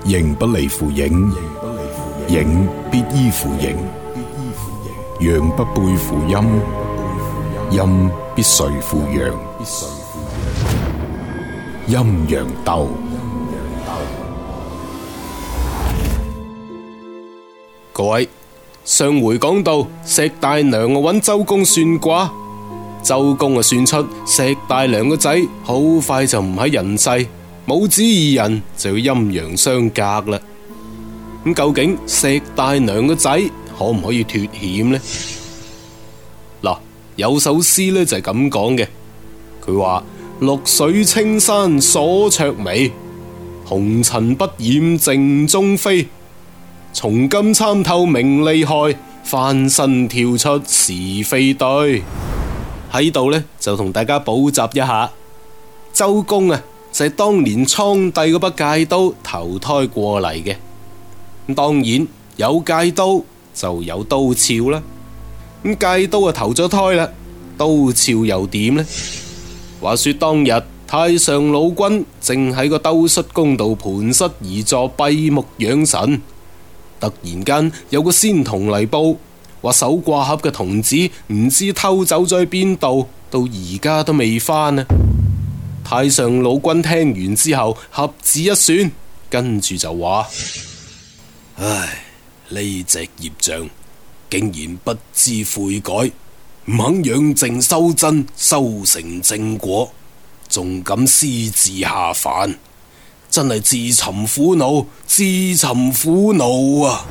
形不離乎影，影必依乎形；陽不背乎陰，陰必隨乎陽。陰陽鬥。 各位，上回講到石大娘揾周公算卦，周公算出石大娘個仔好快就唔喺人世，母子二人就要陰陽相隔啦。咁究竟石大娘個仔可唔可以脫險呢？嗱，有首詩呢就係咁講嘅，佢話：綠水青山鎖雀眉，紅塵不染正中飛。從今參透名利害，翻身跳出是非對。喺度呢，就同大家補習一下，周公啊就係當年蒼帝嗰把戒刀投胎過嚟嘅。咁當然有戒刀就有刀鞘啦。咁戒刀啊投咗胎啦，刀鞘又點呢？話說當日太上老君正喺個兜率宮度盤膝而坐閉目養神，突然間有個仙童嚟報，話守卦盒嘅童子唔知偷走咗去邊度，到而家都未返啊！太上老君聽完之後合指一算，跟住就話： 唉，呢隻業障竟然不知悔改，唔肯養正修真，修成正果，仲敢私自下凡，真係自尋苦惱，自尋苦惱啊！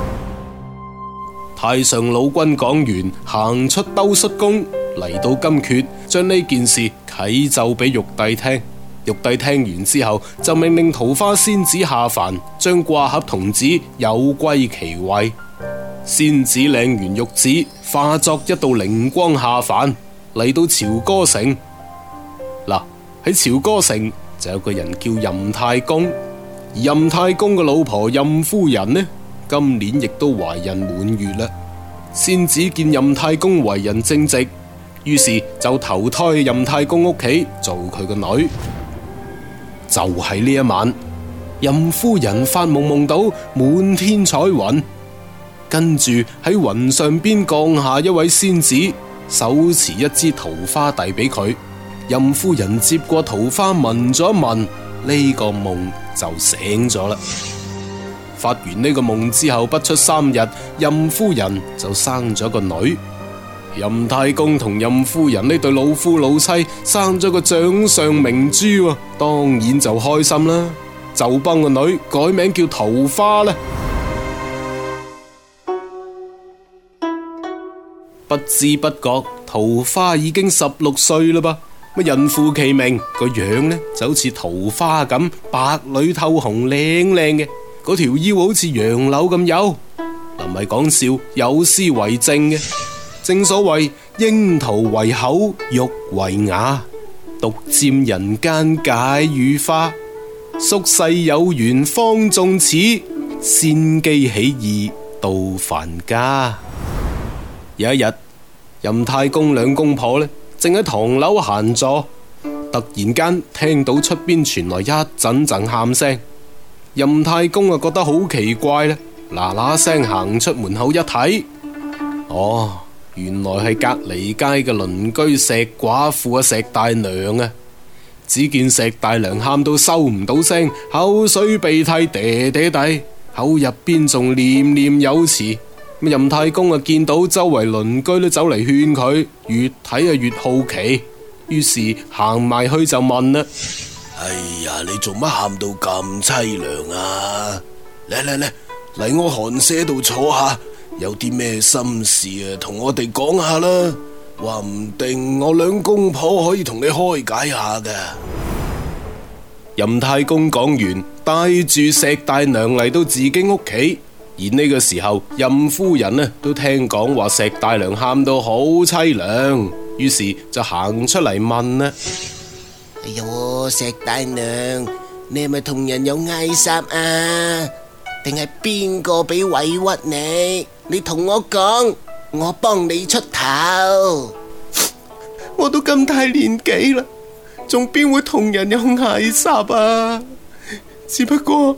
太上老君講完，行出兜率宮，嚟到金闕，將呢件事啟奏俾玉帝聽。玉帝聽完之後，就命令桃花仙子下凡，將卦盒童子有歸其位。仙子領完玉旨，化作一道靈光下凡，嚟到朝歌城。嗱，喺朝歌城就有個人叫任太公，而任太公嘅老婆任夫人呢，今年亦都懷孕滿月啦。仙子見任太公為人正直，於是就投胎任太公屋企做佢個女。就喺呢一晚，任夫人發夢夢到滿天彩雲，跟住喺雲上邊降下一位仙子，手持一支桃花遞俾佢。任夫人接過桃花聞咗一聞，呢個夢就醒咗啦。發完呢個夢之後不出3日，任夫人就生咗個女。任太公同任夫人呢對老夫老妻生咗個掌上明珠，當然就開心啦，就幫個女改名叫桃花啦。不知不覺桃花已經16歲啦噃，乜人副其名，個樣呢就好似桃花咁白裏透紅，靚靚嘅，嗰條腰好似楊柳咁幼。唔係講笑，有詩為證嘅。正所謂櫻桃為口，玉為牙，獨佔人間解語花。宿世有緣方縱此，仙機起義到凡家。有一日，任太公兩公婆呢正喺唐樓閒坐，突然間聽到出邊傳來一陣陣喊聲。任太公啊覺得好奇怪啦，嗱嗱聲行出門口一睇，哦，原來係隔離街嘅鄰居石寡婦石大娘啊！只見石大娘喊到收唔到聲，口水鼻涕嗲嗲地，口入邊仲念念有詞。任太公啊見到周圍鄰居都走嚟勸佢，越睇啊越好奇，於是行埋去就問啦： 哎呀，你做乜喊到咁淒涼啊？嚟我寒舍度坐下，有啲咩心事啊，同我哋講下啦。話唔定我兩公婆可以同你開解下㗎。 任太公講完，帶住石大娘嚟到自己屋企。而呢個時候，任夫人呢都聽講話石大娘喊到好淒涼，於是就行出嚟問啦： 哎喲，石大娘，你係咪同人有嗌霎啊？定係邊個俾委屈你？你同我講，我幫你出頭。 我都咁大年紀啦，仲邊會同人有嗌霎啊？只不過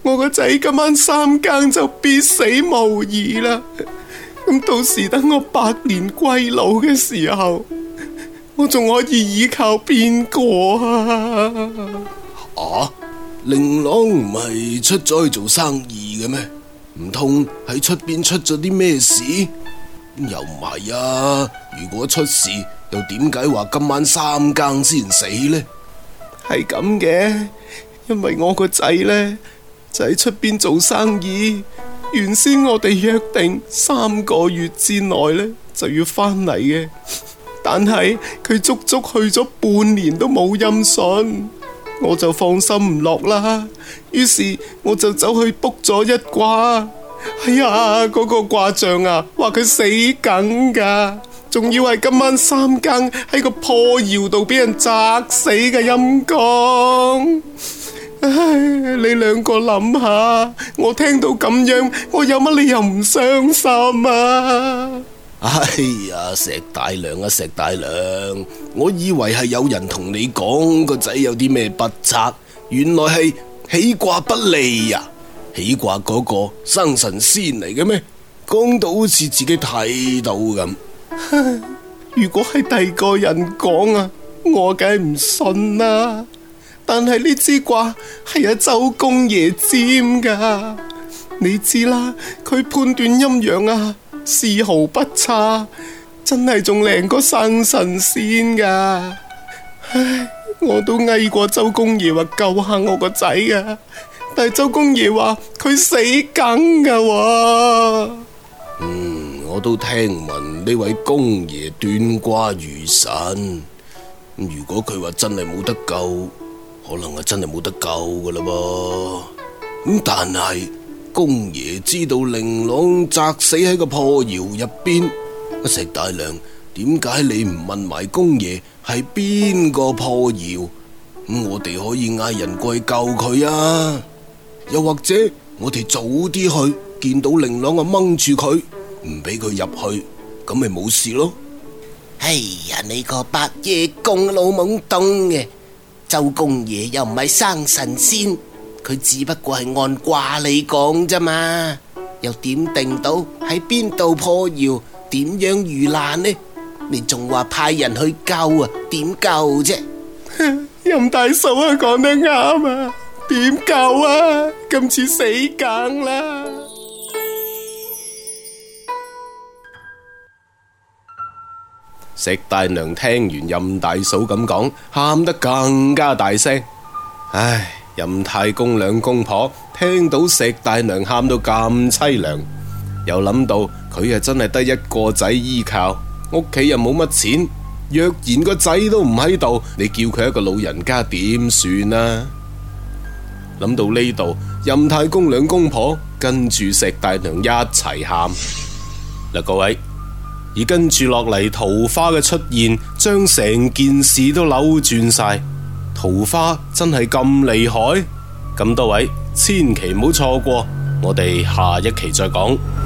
我個仔今晚3更就必死無疑啦。咁到時等我百年歸老嘅時候，我仲可以依靠邊個啊？ 令郎唔係出咗去做生意嘅咩？唔通喺出邊出咗啲咩事？又唔係啊！如果出事，又點解話今晚3更先死呢？ 係咁嘅，因為我個仔呢，就喺出邊做生意，原先我哋約定3個月之內呢就要翻嚟嘅，但係佢足足去咗半年都冇音訊，我就放心唔落啦，於是我就走去卜咗一卦。哎呀，嗰個卦象啊，話佢死梗噶，仲要係今晚3更喺個破窑度俾人砸死嘅陰公。唉，你兩個諗下，我聽到咁樣，我有乜理由唔傷心啊？ 哎呀，石大娘啊，石大娘，我以為係有人同你講個仔有啲咩不測，原來係起卦不利呀。起卦嗰個生神仙嚟嘅咩？講到好似自己睇到咁。 如果係第二個人講啊，我梗係唔信啦。但係呢支卦係阿周公爺占噶，你知啦，佢判斷陰陽啊，絲毫不差，真係仲靚過生神仙噶。唉，我都嗌過周公爺話救下我個仔啊，但係周公爺話佢死梗噶喎。 我都聽聞呢位公爺斷卦如神，如果佢話真係冇得救，可能係真係冇得救噶啦噃。但係公爺知道令郎砸死喺個破窑入邊，石大娘，點解你唔問埋公爺係邊個破窑？我哋可以嗌人過去救佢啊！又或者我哋早啲去，見到令郎啊掹住佢，唔俾佢入去，咁咪冇事咯。 哎呀，你個白夜公老懵懂嘅，周公爺又唔係生神仙，佢只不過係按卦嚟講啫嘛，又點定到喺邊度破窑，點樣遇難呢？你仲話派人去救啊？點救啫？ 任大嫂啊，講得啱啊！點救啊？今次死梗啦！石大娘聽完任大嫂咁講，喊得更加大聲。唉，任太公兩公婆聽到石大娘喊到咁淒涼，又諗到佢真係得一個仔依靠，屋企又冇乜錢，若然個仔都唔喺度，你叫佢一個老人家點算啊？諗到呢度，任太公兩公婆跟住石大娘一齊喊。嗱，各位，而跟住落嚟桃花嘅出現，將成件事都扭轉晒。桃花真係咁厲害？咁多位千祈唔好錯過，我哋下一期再講。